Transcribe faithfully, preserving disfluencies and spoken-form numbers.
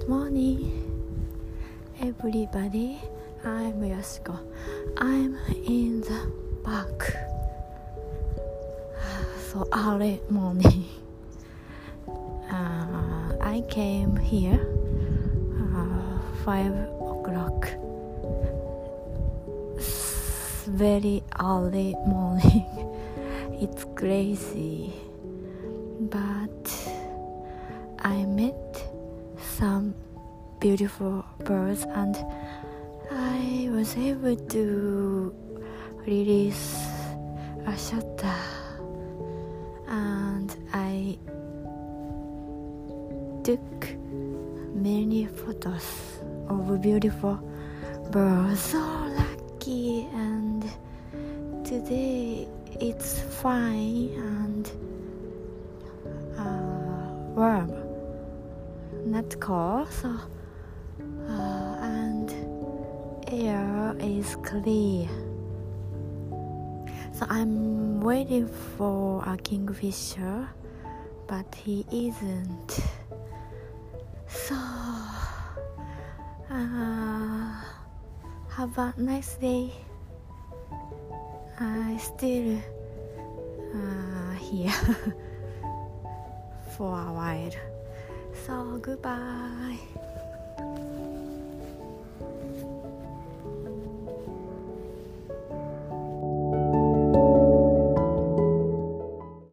morning, everybody. I'm Yoshiko. I'm in the park. So early morning. Uh, I came here uh, five o'clock. It's very early morning. It's crazy, but I met some beautiful birds and I was able to release a shutter, and I took many photos of beautiful birds. So lucky, and today it's fine and uh, warm, not cold, so uh, and air is clear. So I'm waiting for a kingfisher, but he isn't. So uh, have a nice day. I still uh, here for a while. So goodbye.